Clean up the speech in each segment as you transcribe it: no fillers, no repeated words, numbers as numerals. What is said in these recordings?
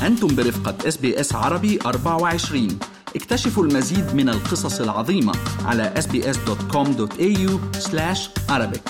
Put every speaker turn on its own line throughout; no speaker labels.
أنتم برفقة SBS عربي 24. اكتشفوا المزيد من القصص العظيمة على sbs.com.au/Arabic.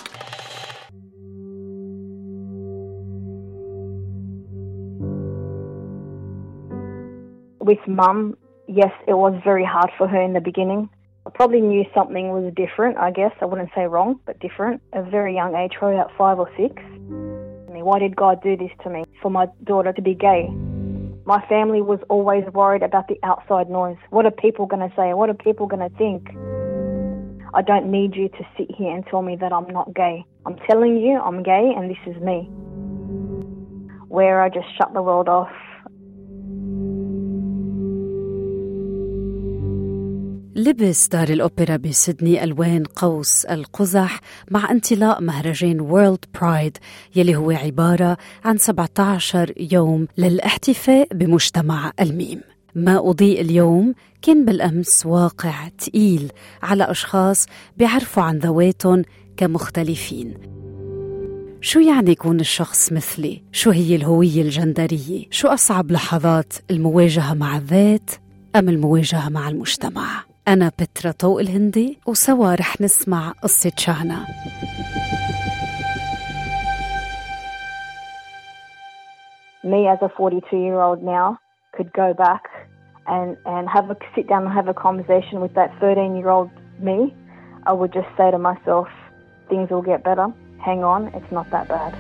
With Mum, yes, it was very hard for her in the beginning. I probably knew something was different, I guess. I wouldn't say wrong, but different. At a very young age, probably about 5 or 6. Why did God do this to me? For my daughter to be gay? My family was always worried about the outside noise. What are people going to say? What are people going to think? I don't need you to sit here and tell me that I'm not gay. I'm telling you I'm gay and this is me. Where I just shut the world off.
لبس دار الأوبرا بسيدني ألوان قوس القزح مع انطلاق مهرجان وورلد برايد يلي هو عبارة عن 17 يوم للاحتفاء بمجتمع الميم. ما أضيء اليوم كان بالأمس واقع تقيل على أشخاص بيعرفوا عن ذواتهم كمختلفين. شو يعني يكون الشخص مثلي؟ شو هي الهوية الجندرية؟ شو أصعب لحظات المواجهة مع الذات أم المواجهة مع المجتمع؟ أنا بترا طوق الهندي وسوا رح نسمع قصة شانا.
Me as a 42-year-old now could go back and have a sit down and have a conversation with that 13-year-old me. I would just say to myself, things will get better. Hang on, it's not that bad.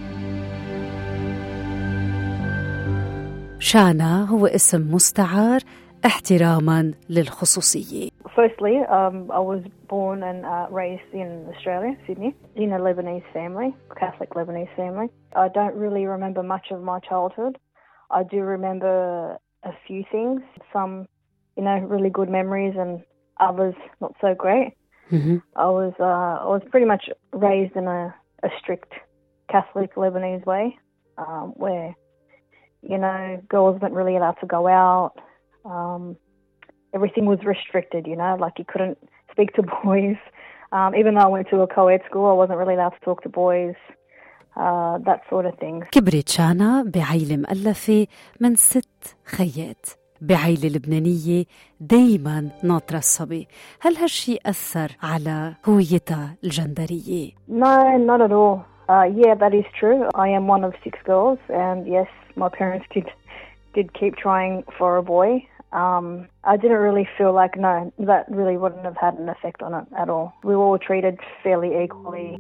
شانا هو اسم مستعار احتراما للخصوصية.
Firstly, I was born and raised in Australia, Sydney, in a Lebanese family, Catholic Lebanese family. I don't really remember much of my childhood. I do remember a few things, some, really good memories and others not so great.
Mm-hmm.
I was pretty much raised in a strict Catholic Lebanese way, where, girls weren't really allowed to go out. Everything was restricted, like you couldn't speak to boys. Even though I went to a co-ed school, I wasn't really allowed to talk to boys, that sort of thing.
كبرت شانا بعيلة مؤلفة من 6 خيات، بعيلة لبنانية دايما ناطرة الصبي. هل هالشي أثر على هويتها الجندرية؟
No, not at all. Yeah, that is true. I am one of 6 girls, and yes, my parents did keep trying for a boy. I didn't really feel like, no, that really wouldn't have had an effect on it at all. We were all treated fairly equally.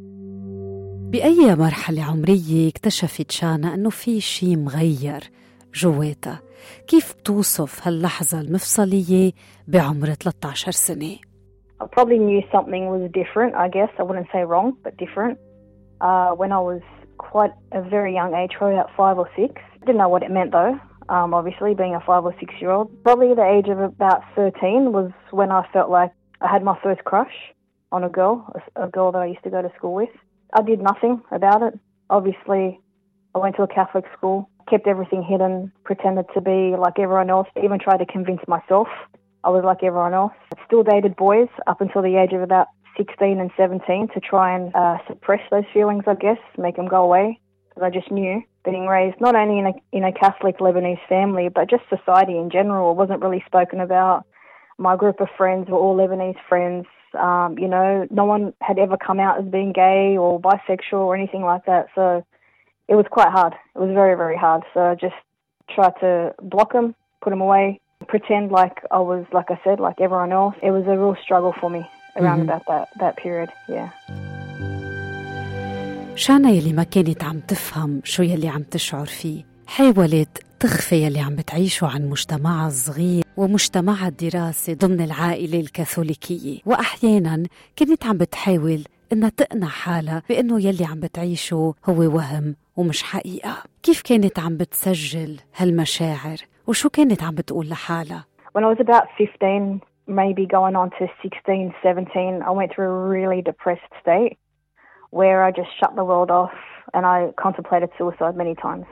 بأي مرحلة عمرية اكتشفت شانا أنه في شي مغير جواتها؟ كيف بتوصف هاللحظة المفصلية بعمر 13 سنة؟
I probably knew something was different, I guess. I wouldn't say wrong, but different. When I was quite a very young age, probably about 5 or 6. I didn't know what it meant though. Obviously, being a 5 or 6-year-old. Probably the age of about 13 was when I felt like I had my first crush on a girl that I used to go to school with. I did nothing about it. Obviously, I went to a Catholic school, kept everything hidden, pretended to be like everyone else, even tried to convince myself I was like everyone else. I still dated boys up until the age of about 16 and 17 to try and suppress those feelings, I guess, make them go away. Because I just knew, being raised not only in a Catholic Lebanese family, but just society in general, it wasn't really spoken about. My group of friends were all Lebanese friends. No one had ever come out as being gay or bisexual or anything like that. So it was quite hard. It was very, very hard. So I just tried to block them, put them away, pretend like I was, like I said, like everyone else. It was a real struggle for me around about that period, yeah.
شانا يلي ما كانت عم تفهم شو يلي عم تشعر فيه، حاولت تخفي يلي عم بتعيشه عن مجتمعها الصغير ومجتمعها الدراسي ضمن العائلة الكاثوليكية، وأحيانا كانت عم بتحاول إنها تقنع حالها بأنه يلي عم بتعيشه هو وهم ومش حقيقة. كيف كانت عم بتسجل هالمشاعر وشو كانت عم بتقول لحالها؟
When I was about 15, maybe going on to 16, 17, I went through a really depressed state where I just shut the world off and I contemplated suicide many times.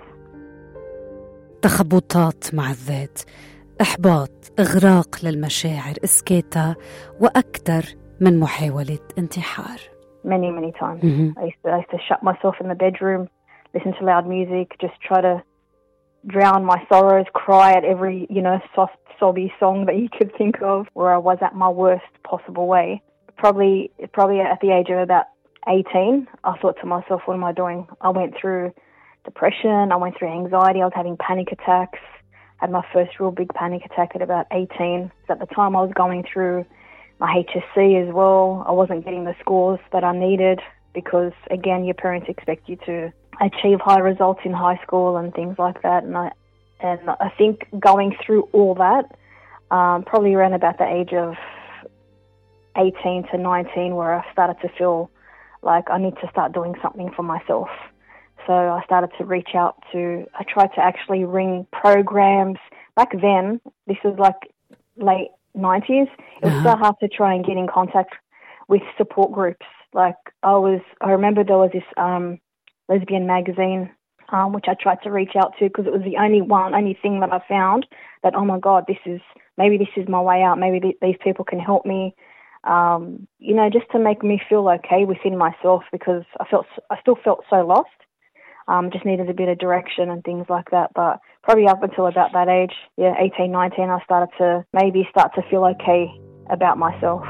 تخبطات مع الذات، إحباط، إغراق للمشاعر، إسكاتها، وأكثر من محاولة انتحار.
Many times. I used to shut myself in the bedroom, listen to loud music, just try to drown my sorrows, cry at every, soft, sobby song that you could think of, where I was at my worst possible way. Probably at the age of about 18, I thought to myself, what am I doing? I went through depression, I went through anxiety, I was having panic attacks. I had my first real big panic attack at about 18. So at the time I was going through my HSC as well. I wasn't getting the scores that I needed because, again, your parents expect you to achieve high results in high school and things like that. And I think going through all that, probably around about the age of 18 to 19, where I started to feel like I need to start doing something for myself. So I started to reach out I tried to actually ring programs. Back then, this was like late 90s, it was so hard to try and get in contact with support groups. Like I remember there was this lesbian magazine, which I tried to reach out to because it was the only thing that I found that, oh my God, maybe this is my way out. Maybe these people can help me. Just to make me feel okay within myself, because I still felt so lost. Just needed a bit of direction and things like that. But probably up until about that age, 18, 19, I started to feel okay about myself.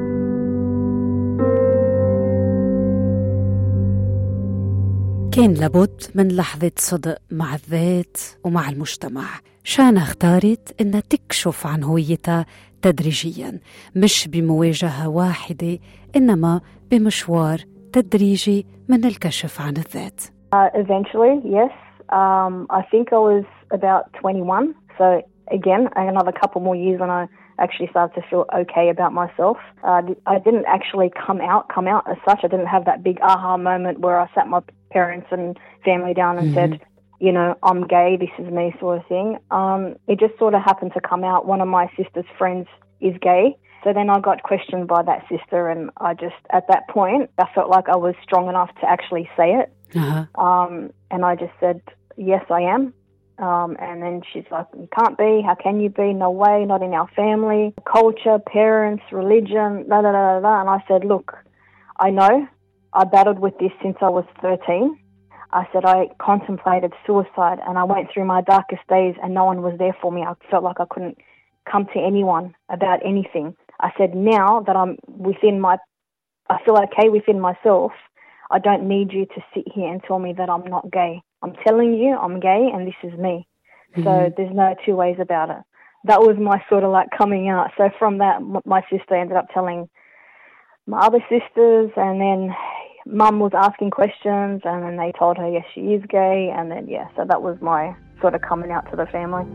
كان لابد من لحظة صدق مع الذات ومع المجتمع. شانا اختارت إنها تكشف عن هويتها تدريجياً، مش بمواجهة واحدة، إنما بمشوار تدريجي من الكشف عن الذات.
Eventually, yes. I think I was about 21. So again, another couple more years and I actually started to feel okay about myself. I didn't actually come out as such. I didn't have that big aha moment where I sat my parents and family down and said, I'm gay, this is me, sort of thing. It just sort of happened to come out. One of my sister's friends is gay. So then I got questioned by that sister, and at that point, I felt like I was strong enough to actually say it. And I just said, yes, I am. And then she's like, you can't be, how can you be? No way, not in our family. Culture, parents, religion, da da da da. And I said, look, I know I battled with this since I was 13. I said I contemplated suicide and I went through my darkest days and no one was there for me. I felt like I couldn't come to anyone about anything. I said, now that I feel okay within myself, I don't need you to sit here and tell me that I'm not gay. I'm telling you I'm gay and this is me. So there's no two ways about it. That was my sort of like coming out. So from that, my sister ended up telling my other sisters, and then Mum was asking questions, and then they told her, yes, she is gay. And then, so that was my sort of coming out to the family.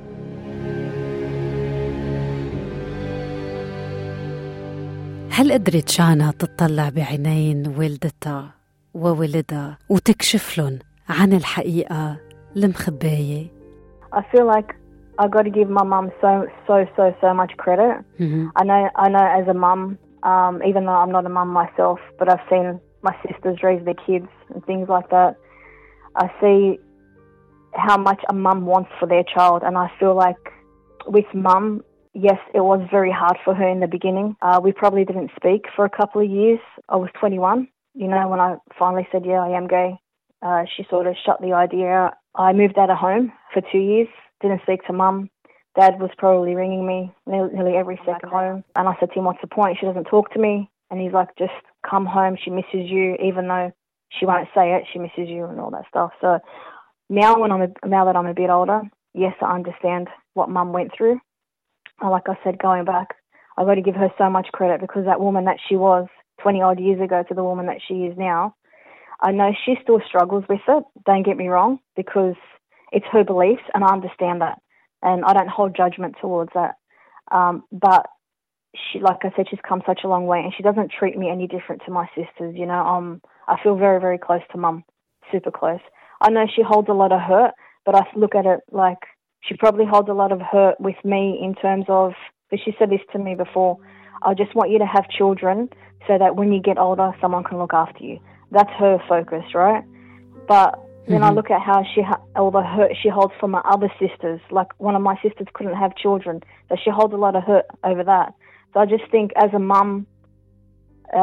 هل قدرت شانا تطلع بعينين والدتها وولدها وتكشف لهم عن الحقيقة المخباية؟
I feel like I got to give my mum so much credit. I know as a mum, even though I'm not a mum myself, but I've seen my sisters raise their kids and things like that. I see how much a mum wants for their child, and I feel like with mum, yes, it was very hard for her in the beginning. We probably didn't speak for a couple of years. I was 21, when I finally said, yeah, I am gay. She sort of shut the idea out. I moved out of home for 2 years, didn't speak to mum. Dad was probably ringing me nearly every second home. And I said to him, what's the point? She doesn't talk to me. And he's like, just come home. She misses you, even though she won't say it. She misses you and all that stuff. So now that I'm a bit older, yes, I understand what mum went through. Like I said, going back, I've got to give her so much credit, because that woman that she was 20 odd years ago to the woman that she is now, I know she still struggles with it. Don't get me wrong, because it's her beliefs and I understand that. And I don't hold judgment towards that. But she, like I said, she's come such a long way, and she doesn't treat me any different to my sisters. I feel very, very close to mum, super close. I know she holds a lot of hurt, but I look at it like she probably holds a lot of hurt with me in terms of, because she said this to me before, I just want you to have children so that when you get older, someone can look after you. That's her focus, right? But then I look at how all the hurt she holds for my other sisters. Like, one of my sisters couldn't have children, so she holds a lot of hurt over that. So I just think as a mum,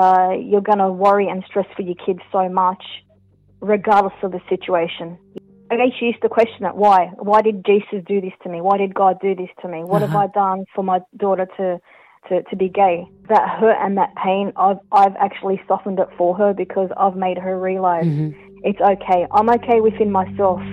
you're going to worry and stress for your kids so much, regardless of the situation. she used to question it. Why did Jesus do this to me? Why did God do this to me? What have I done for my daughter to be gay? That hurt and that pain, I've actually softened it for her because I've made her realize it's okay. I'm okay within myself.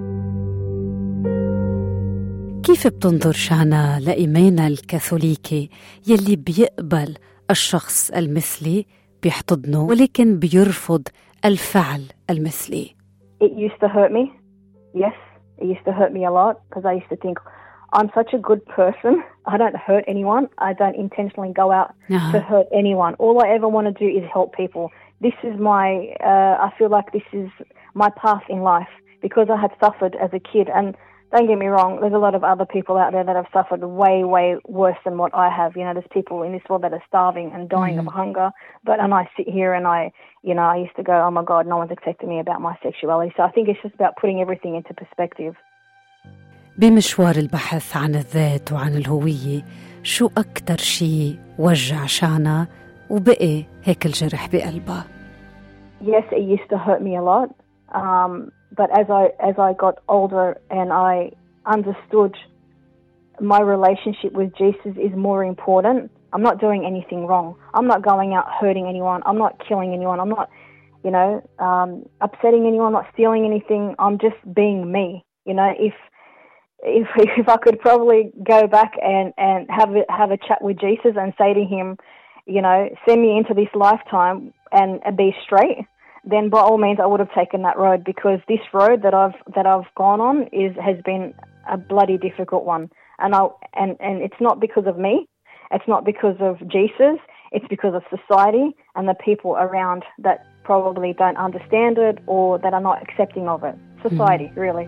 كيف بتنظر شانا لإيمانها الكاثوليكي يلي بيقبل الشخص المثلي بيحتضنه ولكن بيرفض الفعل المثلي؟
It used to hurt me. Yes, it used to hurt me a lot because I used to think, I'm such a good person. I don't hurt anyone. I don't intentionally go out to hurt anyone. All I ever want to do is help people. This is I feel like this is my path in life because I had suffered as a kid. And don't get me wrong, there's a lot of other people out there that have suffered way, way worse than what I have. You know, there's people in this world that are starving and dying of hunger. And I sit here and I used to go, oh my God, no one's accepting me about my sexuality. So I think it's just about putting everything into perspective.
بمشوار البحث عن الذات وعن الهوية، شو أكتر شيء وجع شانا وبقي هيك الجرح بقلبها؟
Yes, it used to hurt me a lot. But as I got older and I understood my relationship with Jesus is more important, I'm not doing anything wrong. I'm not going out hurting anyone. I'm not killing anyone. I'm not, upsetting anyone, not stealing anything. I'm just being me. You know, if I could probably go back and have a chat with Jesus and say to him, send me into this lifetime and be straight, then by all means I would have taken that road, because this road that I've gone on has been a bloody difficult one. And it's not because of me. It's not because of Jesus. It's because of society and the people around that probably don't understand it or that are not accepting of it. Society, really.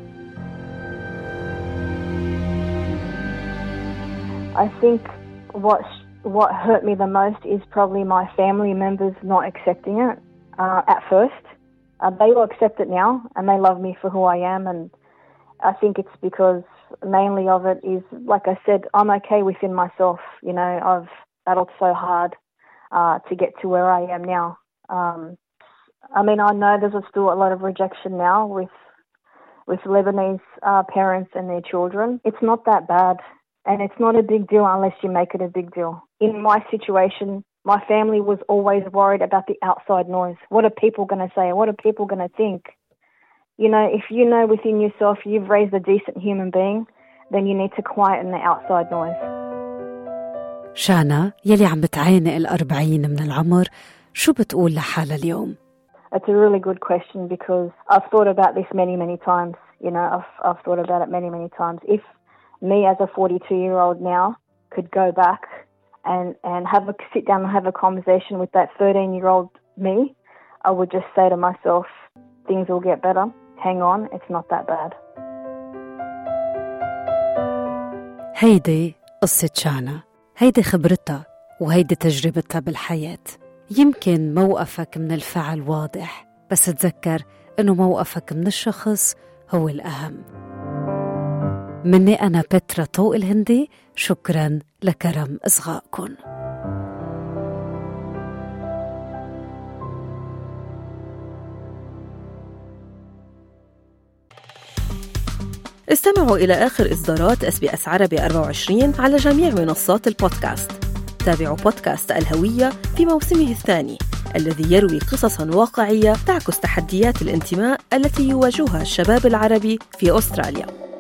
I think what hurt me the most is probably my family members not accepting it at first. They will accept it now and they love me for who I am, and I think it's because mainly of it is, like I said, I'm okay within myself. I've battled so hard to get to where I am now. I know there's still a lot of rejection now with Lebanese parents and their children. It's not that bad. And it's not a big deal unless you make it a big deal. In my situation, my family was always worried about the outside noise. What are people going to say? What are people going to think? If you know within yourself you've raised a decent human being, then you need to quieten the outside noise.
شانا يلي عم بتعانق 40 من العمر، شو بتقول لحالها اليوم؟
It's a really good question because I've thought about this many, many times. I've thought about it many, many times. If me as a 42-year-old now could go back and sit down and have a conversation with that 13-year-old me, I would just say to myself, things will get better. Hang on, it's not that bad.
هيدي قصة شانا، هيدي خبرتها وهيدي تجربتها بالحياة. يمكن موقفك من الفعل واضح، بس تذكر إنه موقفك من الشخص هو الأهم. مني أنا بترا طوق الهندي، شكراً لكرم إصغائكم.
استمعوا إلى آخر إصدارات SBS عربي 24 على جميع منصات البودكاست. تابعوا بودكاست الهوية في موسمه الثاني الذي يروي قصصاً واقعية تعكس تحديات الانتماء التي يواجهها الشباب العربي في أستراليا.